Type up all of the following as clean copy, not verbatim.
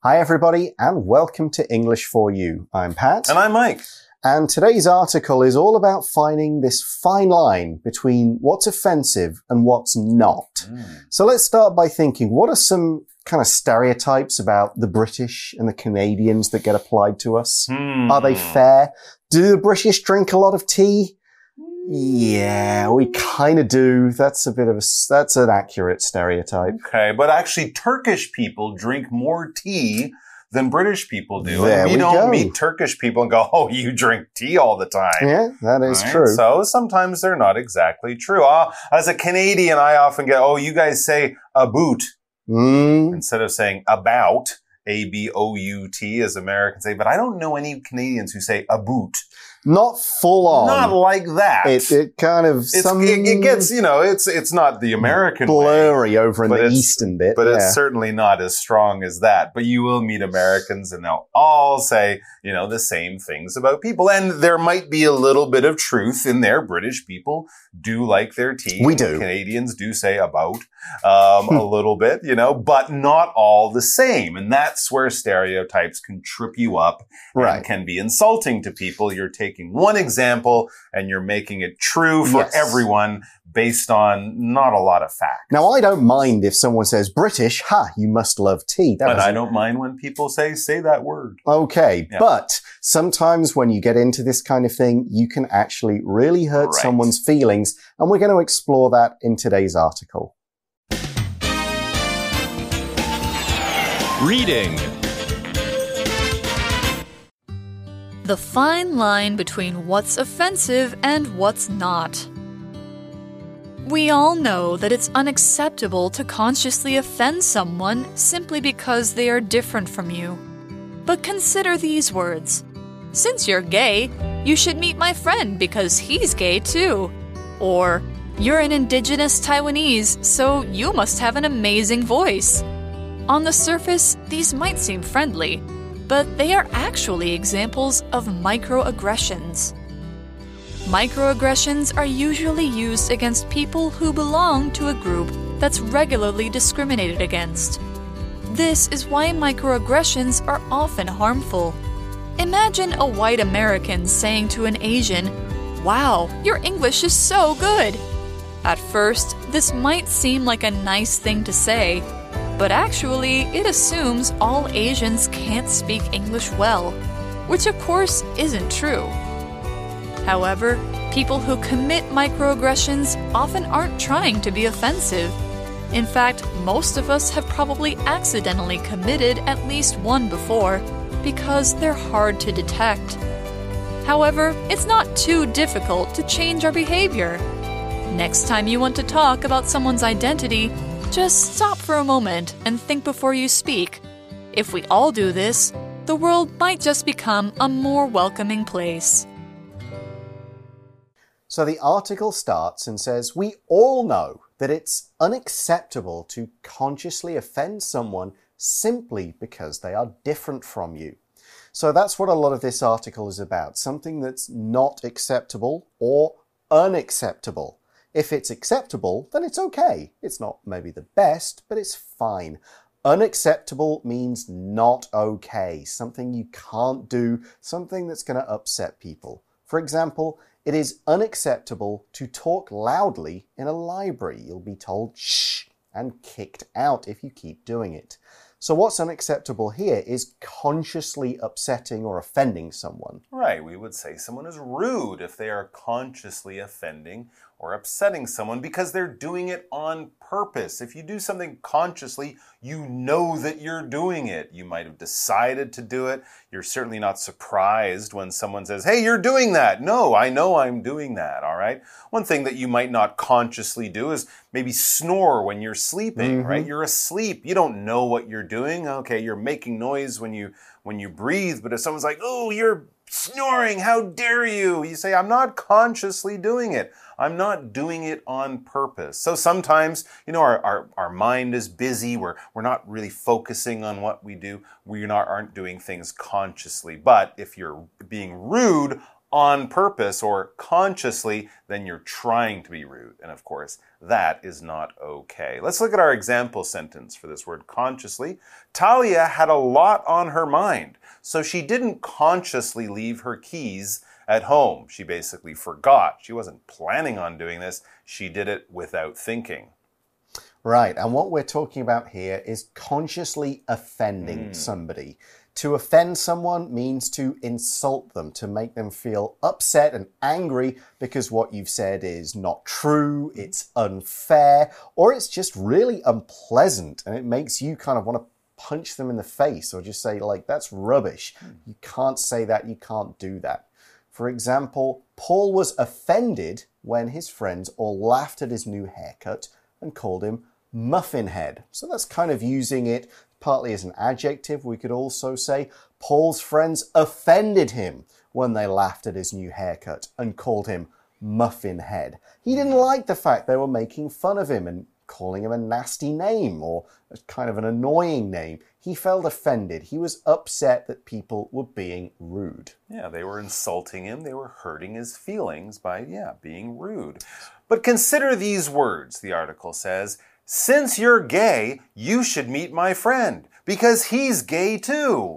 Hi everybody and welcome to English for You. I'm Pat. And I'm Mike. And today's article is all about finding this fine line between what's offensive and what's not. So let's start by thinking, what are some kind of stereotypes about the British and the Canadians that get applied to us? Are they fair? Do the British drink a lot of tea? Yeah, we kind of do. That's an accurate stereotype. Okay, but actually Turkish people drink more tea than British people do. There and we we don't go. meet Turkish people and go, oh, you drink tea all the time. Yeah, that is Right? true. So sometimes they're not exactly true. As a Canadian, I often get, oh, you guys say about instead of saying about. A-B-O-U-T, as Americans say. But I don't know any Canadians who say about. Not full on. Not like that. It kind of it gets, it's not the American blurry way, over in the eastern bit. But it's certainly not as strong as that. But you will meet Americans and they'll all say, the same things about people. And there might be a little bit of truth in there. British people do like their tea. We do. Canadians do say about a little bit, but not all the same. And that's where stereotypes can trip you up and can be insulting to people. You're taking one example and you're making it true for everyone based on not a lot of facts. Now, I don't mind if someone says British, you must love tea. But I don't mind when people say that word. Okay, but sometimes when you get into this kind of thing, you can actually really hurt someone's feelings, and we're going to explore that in today's article. Reading. The fine line between what's offensive and what's not. We all know that it's unacceptable to consciously offend someone simply because they are different from you. But consider these words. Since you're gay, you should meet my friend because he's gay too. Or, you're an indigenous Taiwanese, so you must have an amazing voice. On the surface, these might seem friendly, but they are actually examples of microaggressions. Microaggressions are usually used against people who belong to a group that's regularly discriminated against. This is why microaggressions are often harmful. Imagine a white American saying to an Asian, "Wow, your English is so good." At first, this might seem like a nice thing to say, but actually, it assumes all Asians can't speak English well, which of course isn't true. However, people who commit microaggressions often aren't trying to be offensive. In fact, most of us have probably accidentally committed at least one before, because they're hard to detect. However, it's not too difficult to change our behavior. Next time you want to talk about someone's identity, just stop for a moment and think before you speak. If we all do this, the world might just become a more welcoming place. So the article starts and says, we all know that it's unacceptable to consciously offend someone simply because they are different from you. So that's what a lot of this article is about, something that's not acceptable or unacceptable. If it's acceptable, then it's okay. It's not maybe the best, but it's fine. Unacceptable means not okay, something you can't do, something that's going to upset people. For example, it is unacceptable to talk loudly in a library. You'll be told shh and kicked out if you keep doing it. So what's unacceptable here is consciously upsetting or offending someone. Right, we would say someone is rude if they are consciously offending or upsetting someone because they're doing it on purpose. If you do something consciously, you know that you're doing it. You might have decided to do it. You're certainly not surprised when someone says, hey, you're doing that. No, I know I'm doing that, all right? One thing that you might not consciously do is maybe snore when you're sleeping, right? You're asleep. You don't know what you're doing. Okay, you're making noise when you breathe, but if someone's like, oh, you're snoring, how dare you? You say, I'm not consciously doing it. I'm not doing it on purpose. So sometimes, our mind is busy. We're not really focusing on what we do. We aren't doing things consciously. But if you're being rude on purpose or consciously, then you're trying to be rude. And of course, that is not okay. Let's look at our example sentence for this word consciously. Talia had a lot on her mind, so she didn't consciously leave her keys at home. She basically forgot. She wasn't planning on doing this. She did it without thinking. Right, and what we're talking about here is consciously offending somebody. To offend someone means to insult them, to make them feel upset and angry because what you've said is not true, it's unfair, or it's just really unpleasant and it makes you kind of want to punch them in the face or just say, like, that's rubbish. You can't say that, you can't do that. For example, Paul was offended when his friends all laughed at his new haircut and called him muffin head. So that's kind of using it partly as an adjective. We could also say Paul's friends offended him when they laughed at his new haircut and called him muffin head. He didn't like the fact they were making fun of him and calling him a nasty name or kind of an annoying name. He felt offended. He was upset that people were being rude. Yeah, they were insulting him. They were hurting his feelings by, being rude. But consider these words, the article says. Since you're gay, you should meet my friend, because he's gay too.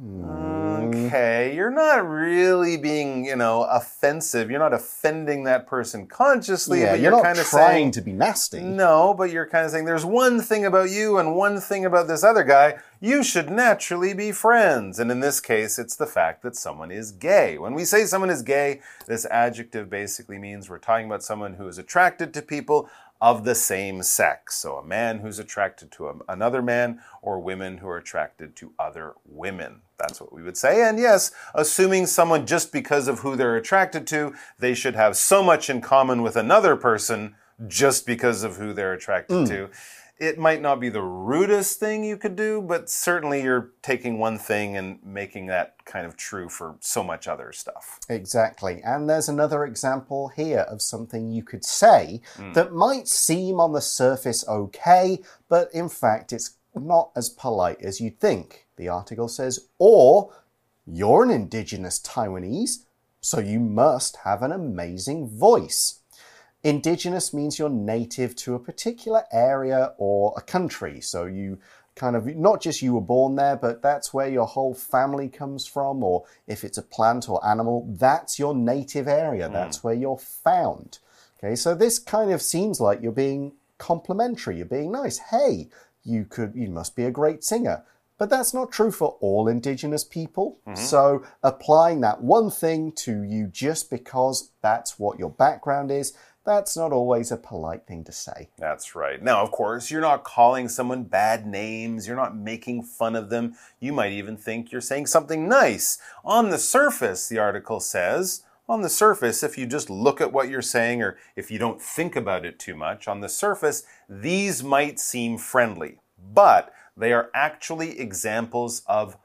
Okay, you're not really being, offensive. You're not offending that person consciously, but you're kind of trying to be nasty. No, but you're kind of saying there's one thing about you and one thing about this other guy. You should naturally be friends. And in this case, it's the fact that someone is gay. When we say someone is gay, this adjective basically means we're talking about someone who is attracted to people of the same sex. So a man who's attracted to another man, or women who are attracted to other women. That's what we would say. And yes, assuming someone just because of who they're attracted to, they should have so much in common with another person just because of who they're attracted to. It might not be the rudest thing you could do, but certainly you're taking one thing and making that kind of true for so much other stuff. Exactly. And there's another example here of something you could say that might seem on the surface okay, but in fact it's not as polite as you'd think. The article says, or you're an indigenous Taiwanese, so you must have an amazing voice. Indigenous means you're native to a particular area or a country. So you kind of, not just you were born there, but that's where your whole family comes from. Or if it's a plant or animal, that's your native area. That's where you're found. Okay, so this kind of seems like you're being complimentary. You're being nice. Hey, you must be a great singer. But that's not true for all indigenous people. So applying that one thing to you just because that's what your background is, that's not always a polite thing to say. That's right. Now, of course, you're not calling someone bad names. You're not making fun of them. You might even think you're saying something nice. On the surface, the article says, on the surface, if you just look at what you're saying or if you don't think about it too much, on the surface, these might seem friendly. But they are actually examples of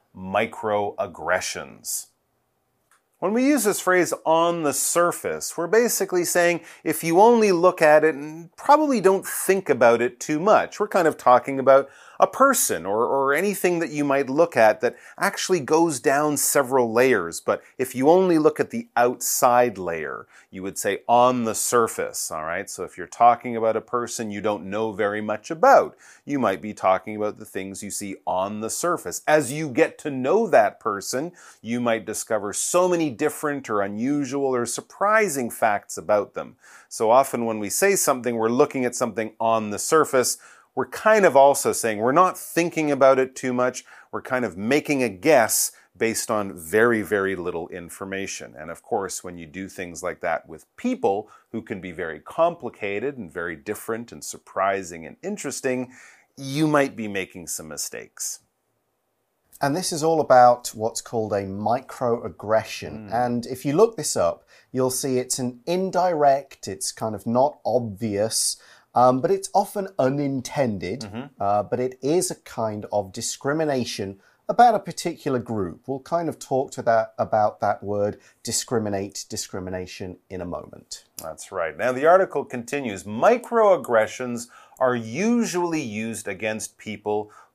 microaggressions. When we use this phrase on the surface, we're basically saying if you only look at it and probably don't think about it too much. We're kind of talking about a person or anything that you might look at that actually goes down several layers. But if you only look at the outside layer, you would say on the surface, all right? So if you're talking about a person you don't know very much about, you might be talking about the things you see on the surface. As you get to know that person, you might discover so many different or unusual or surprising facts about them. So often when we say something, we're looking at something on the surface. We're kind of also saying we're not thinking about it too much. We're kind of making a guess based on very, very little information. And of course, when you do things like that with people who can be very complicated and very different and surprising and interesting, you might be making some mistakes. And this is all about what's called a microaggression. And if you look this up, you'll see it's an indirect, it's kind of not obvious, but it's often unintended, but it is a kind of discrimination about a particular group. We'll kind of talk about that word discrimination in a moment. That's right. Now the article continues, microaggressions are usually used against people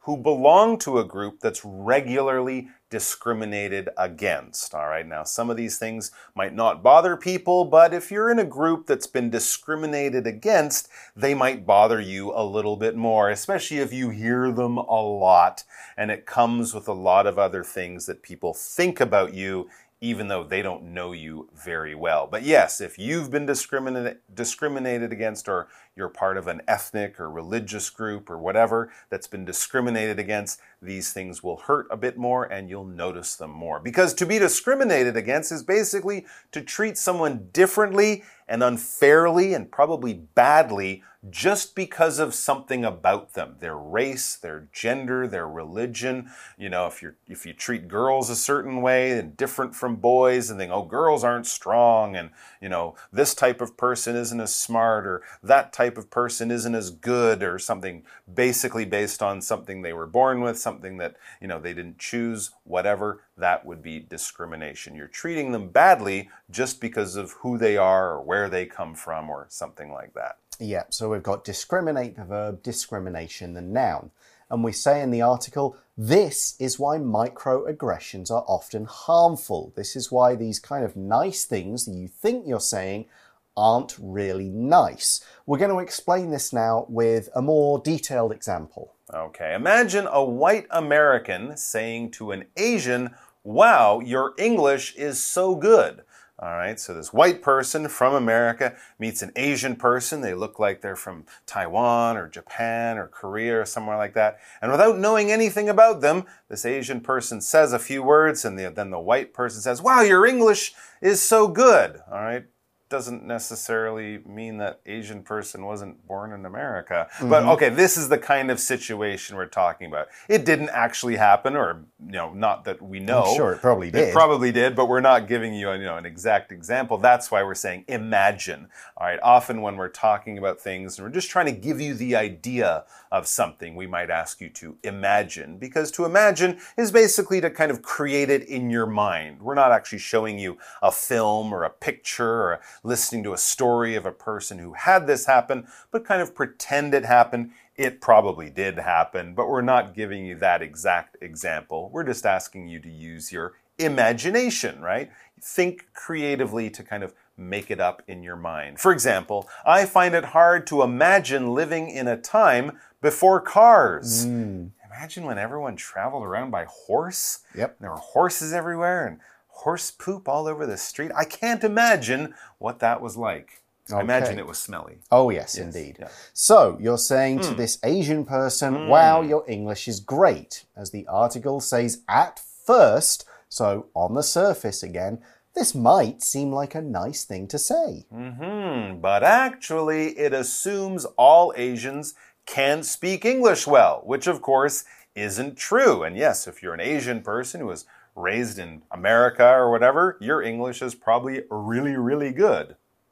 who belong to a group that's regularly discriminated against. All right, now some of these things might not bother people, but if you're in a group that's been discriminated against, they might bother you a little bit more, especially if you hear them a lot and it comes with a lot of other things that people think about you, even though they don't know you very well. But yes, if you've been discriminated against, or you're part of an ethnic or religious group or whatever that's been discriminated against, these things will hurt a bit more and you'll notice them more. Because to be discriminated against is basically to treat someone differently and unfairly and probably badly just because of something about them, their race, their gender, their religion. You know, if you treat girls a certain way and different from boys and think, oh, girls aren't strong, and you know, this type of person isn't as smart, or that type of person isn't as good, or something basically based on something they were born with, something that, you know, they didn't choose, whatever, that would be discrimination. You're treating them badly just because of who they are or where they come from or something like that. Yeah, so we've got discriminate, the verb, discrimination, the noun. And we say in the article, this is why microaggressions are often harmful. This is why these kind of nice things that you think you're saying aren't really nice. We're going to explain this now with a more detailed example. Okay, imagine a white American saying to an Asian, wow, your English is so good. All right, so this white person from America meets an Asian person. They look like they're from Taiwan or Japan or Korea or somewhere like that. And without knowing anything about them, this Asian person says a few words, and then the white person says, wow, your English is so good. All right. Doesn't necessarily mean that Asian person wasn't born in America. But okay, this is the kind of situation we're talking about. It didn't actually happen, or, you know, not that we know. I'm sure it probably did. It probably did, but we're not giving you, an exact example. That's why we're saying imagine. All right, often when we're talking about things and we're just trying to give you the idea of something, we might ask you to imagine, because to imagine is basically to kind of create it in your mind. We're not actually showing you a film or a picture or listening to a story of a person who had this happen, but kind of pretend it happened. It probably did happen, but we're not giving you that exact example. We're just asking you to use your imagination, right? Think creatively to kind of make it up in your mind. For example, I find it hard to imagine living in a time before cars. Imagine when everyone traveled around by horse. Yep. There were horses everywhere and horse poop all over the street. I can't imagine what that was like. I imagine it was smelly. Oh, yes, indeed. Yeah. So, you're saying to this Asian person, wow, your English is great. As the article says, at first, so on the surface again, this might seem like a nice thing to say. But actually, it assumes all Asians can speak English well, which of course isn't true. And yes, if you're an Asian person who was raised in America or whatever, your English is probably really, really good.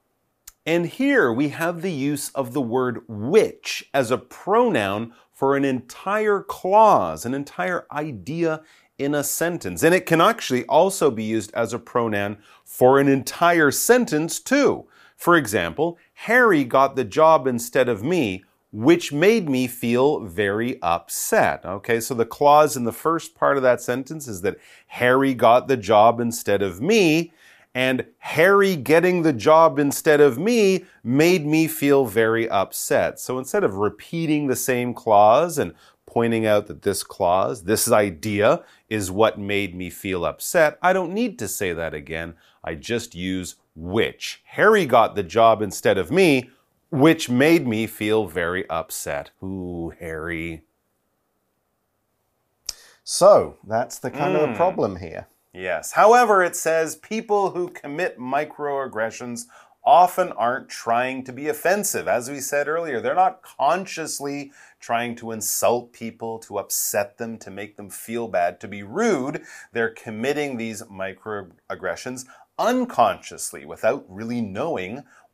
And here we have the use of the word which as a pronoun for an entire clause, an entire idea in a sentence. And it can actually also be used as a pronoun for an entire sentence too. For example, Harry got the job instead of me, which made me feel very upset. Okay, so the clause in the first part of that sentence is that Harry got the job instead of me, and Harry getting the job instead of me made me feel very upset. So instead of repeating the same clause and pointing out that this clause, this idea, is what made me feel upset, I don't need to say that again. I just use which. Harry got the job instead of me, which made me feel very upset. Ooh, Harry. So, that's the kind of a problem here. Yes. However, it says people who commit microaggressions often aren't trying to be offensive. As we said earlier, they're not consciously trying to insult people, to upset them, to make them feel bad, to be rude. They're committing these microaggressions unconsciously without really knowing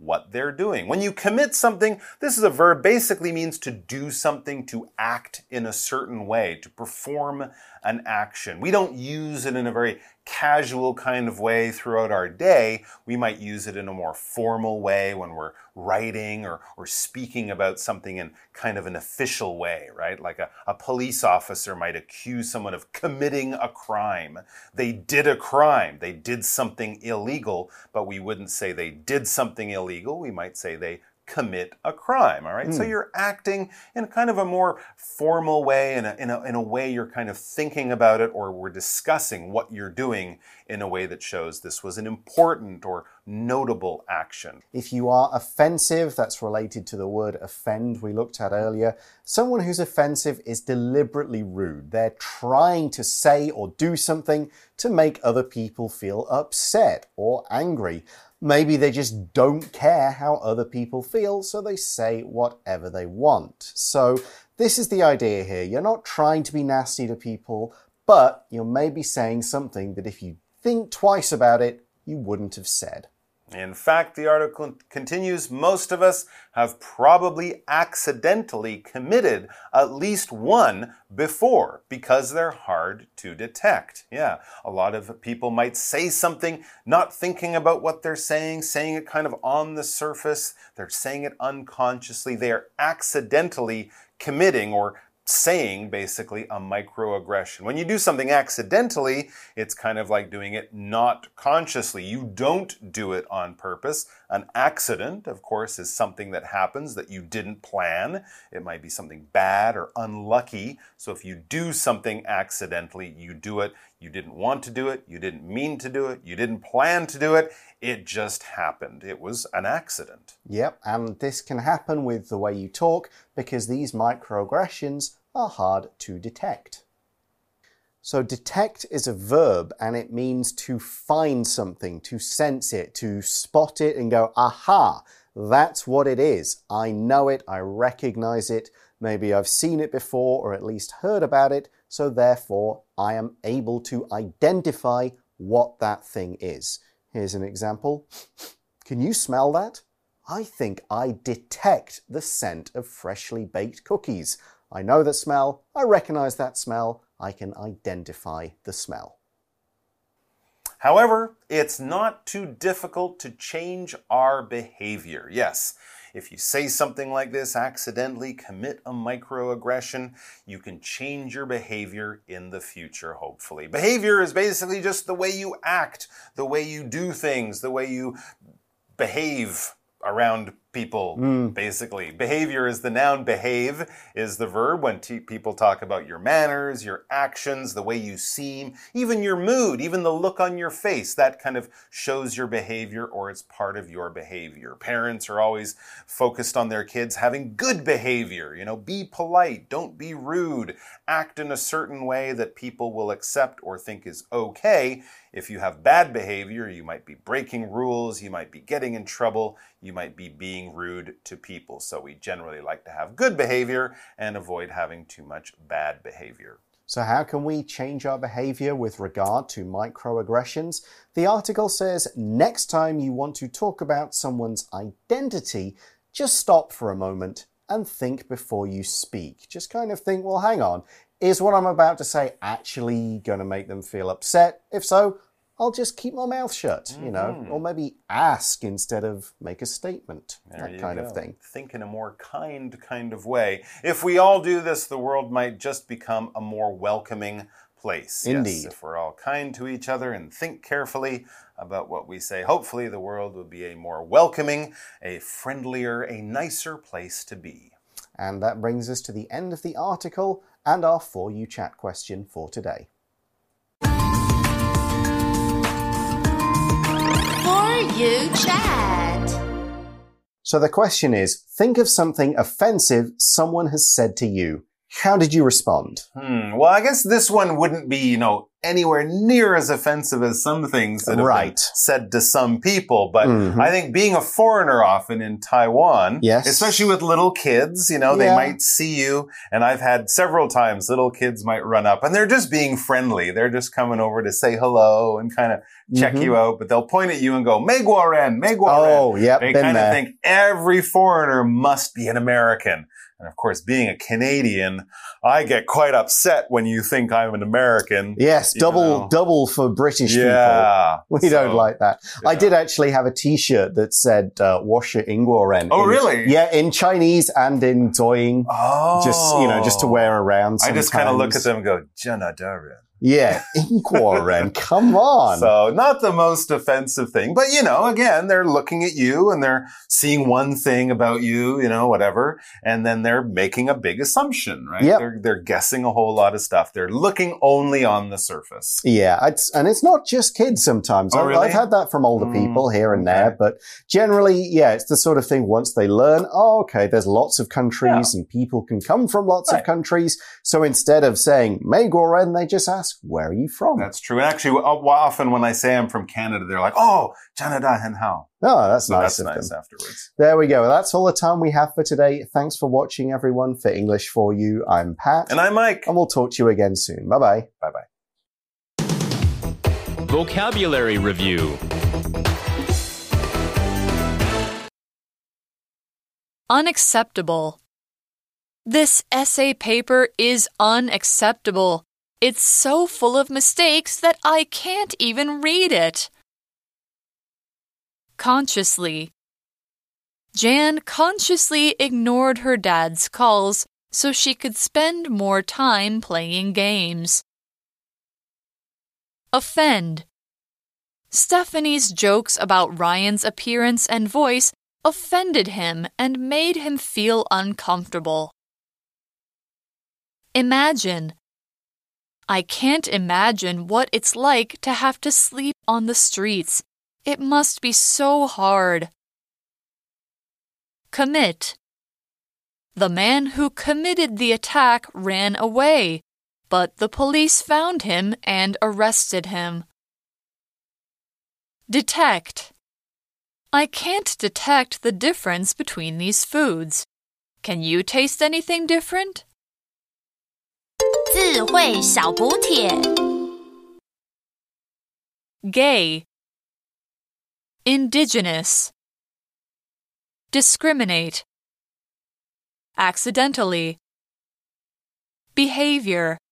what they're doing. When you commit something, this is a verb, basically means to do something, to act in a certain way, to perform an action. We don't use it in a very casual kind of way throughout our day. We might use it in a more formal way when we're writing or speaking about something in kind of an official way, right? Like a police officer might accuse someone of committing a crime. They did a crime. They did something illegal, but we wouldn't say they did something illegal. We might say they commit a crime, all right? So you're acting in kind of a more formal way, in a way you're kind of thinking about it, or we're discussing what you're doing in a way that shows this was an important or notable action. If you are offensive, that's related to the word offend we looked at earlier. Someone who's offensive is deliberately rude. They're trying to say or do something to make other people feel upset or angry. Maybe they just don't care how other people feel, so they say whatever they want. So this is the idea here. You're not trying to be nasty to people, but you're maybe saying something that if you think twice about it, you wouldn't have said. In fact, the article continues, most of us have probably accidentally committed at least one before because they're hard to detect. Yeah, a lot of people might say something not thinking about what they're saying it kind of on the surface. They're saying it unconsciously. They are accidentally committing or saying basically a microaggression. When you do something accidentally, it's kind of like doing it not consciously. You don't do it on purpose. An accident, of course, is something that happens that you didn't plan. It might be something bad or unlucky. So if you do something accidentally, you do it. You didn't want to do it. You didn't mean to do it. You didn't plan to do it. It just happened. It was an accident. Yep, and this can happen with the way you talk because these microaggressions are hard to detect. So detect is a verb and it means to find something, to sense it, to spot it and go, aha, that's what it is. I know it, I recognize it. Maybe I've seen it before or at least heard about it, so therefore I am able to identify what that thing is. Here's an example. Can you smell that? I think I detect the scent of freshly baked cookies. I know the smell, I recognize that smell, I can identify the smell. However, it's not too difficult to change our behavior. Yes, if you say something like this, accidentally commit a microaggression, you can change your behavior in the future, hopefully. Behavior is basically just the way you act, the way you do things, the way you behave around people, basically. Behavior is the noun, behave is the verb. When people talk about your manners, your actions, the way you seem, even your mood, even the look on your face, that kind of shows your behavior or it's part of your behavior. Parents are always focused on their kids having good behavior. You know, be polite, don't be rude, act in a certain way that people will accept or think is okay. If you have bad behavior, you might be breaking rules, you might be getting in trouble, you might be being rude to people. So we generally like to have good behavior and avoid having too much bad behavior. So how can we change our behavior with regard to microaggressions? The article says next time you want to talk about someone's identity, just stop for a moment and think before you speak. Just kind of think, well, hang on, is what I'm about to say actually going to make them feel upset? If so, I'll just keep my mouth shut, you know, or maybe ask instead of make a statement, that kind of thing. Think in a more kind of way. If we all do this, the world might just become a more welcoming place. Indeed. Yes, if we're all kind to each other and think carefully about what we say, hopefully the world will be a more welcoming, a friendlier, a nicer place to be. And that brings us to the end of the article and our For You Chat question for today. You chat. So the question is, think of something offensive someone has said to you. How did you respond? Well, I guess this one wouldn't be, anywhere near as offensive as some things that have been Right. said to some people. But I think being a foreigner often in Taiwan, Yes. especially with little kids, you know, they Yeah. might see you. And I've had several times little kids might run up and they're just being friendly. They're just coming over to say hello and kind of check you out. But they'll point at you and go, Meiguoren, Meiguoren. Oh, yep, They been kind of there. think every foreigner must be an American. And of course, being a Canadian, I get quite upset when you think I'm an American. Yes, you double know. double for British people. Yeah. We don't like that. I did actually have a T-shirt that said "Washer Ingworen." Oh, really? Yeah, in Chinese and in Douyin. Oh. Just to wear around. I just kind of look at sometimes. them and go, Janadaran. Yeah, Ingworen. Come on. So not the most offensive thing, but you know, again, they're looking at you and they're seeing one thing about you, you know, whatever, and then they're making a big assumption, right? Yep. They're guessing a whole lot of stuff. They're looking only on the surface. Yeah, and it's not just kids sometimes. Oh, really? I've had that from older people here and okay. there, but generally, yeah, it's the sort of thing once they learn, oh, okay, there's lots of countries and people can come from lots of countries. So instead of saying Meiguoren, they just ask, where are you from? That's true. And actually, often when I say I'm from Canada, they're like, oh, Canada and how? Oh, that's So nice that's of nice them. afterwards. There we go. That's all the time we have for today. Thanks for watching, everyone. For English for You, I'm Pat. And I'm Mike. And we'll talk to you again soon. Bye-bye. Bye-bye. Vocabulary Review. Unacceptable. This essay paper is unacceptable. It's so full of mistakes that I can't even read it. Consciously. Jan consciously ignored her dad's calls so she could spend more time playing games. Offend. Stephanie's jokes about Ryan's appearance and voice offended him and made him feel uncomfortable. Imagine. I can't imagine what it's like to have to sleep on the streets. It must be so hard. Commit. The man who committed the attack ran away, but the police found him and arrested him. Detect. I can't detect the difference between these foods. Can you taste anything different? 智慧小补帖 Gay. Indigenous. Discriminate. Accidentally. Behavior.